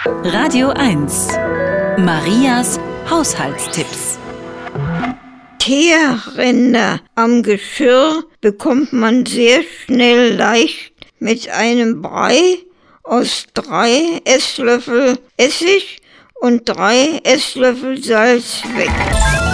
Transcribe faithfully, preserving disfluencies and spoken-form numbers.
Radio eins. Marias Haushaltstipps. Teerränder am Geschirr bekommt man sehr schnell leicht mit einem Brei aus drei Esslöffel Essig und drei Esslöffel Salz weg.